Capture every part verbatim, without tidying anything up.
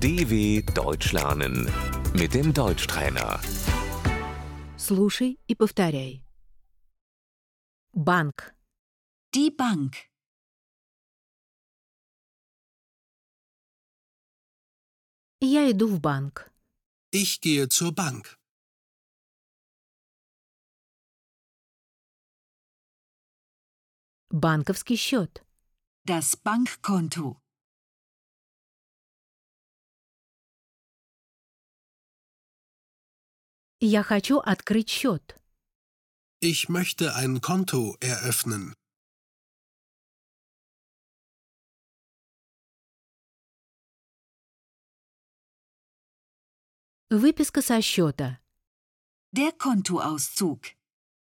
D W Deutsch lernen mit dem Deutschtrainer. Слушай и повторяй. Банк, Die Bank. я иду в банк. Ich gehe zur Bank. Банковский счет, Das Bankkonto. я хочу открыть счет. Ich möchte ein Konto eröffnen. Выписка со счета, Der Kontoauszug.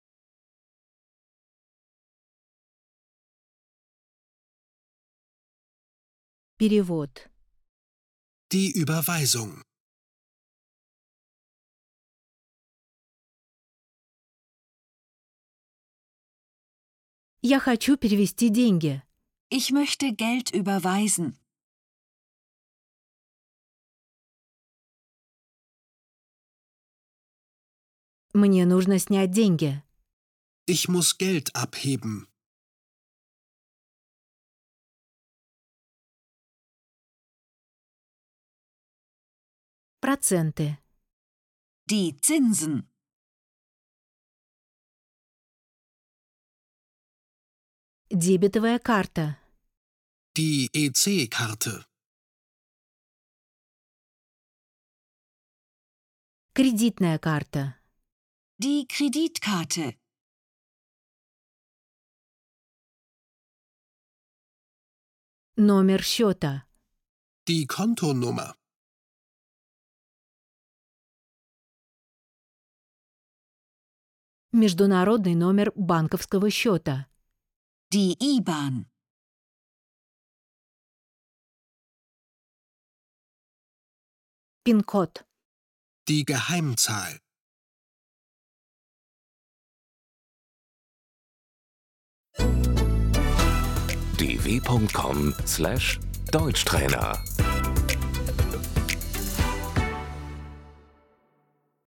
перевод, Die Überweisung. я хочу перевести деньги. Ich möchte Geld überweisen. Мне нужно снять деньги. Ich muss Geld abheben. Проценты, Die Zinsen. дебетовая карта, Die E C-Karte. кредитная карта, Die Kreditkarte. номер счета, Die Kontonummer. международный номер банковского счета, Die I B A N. пин-код, Die Geheimzahl. d w punkt com slash Deutschtrainer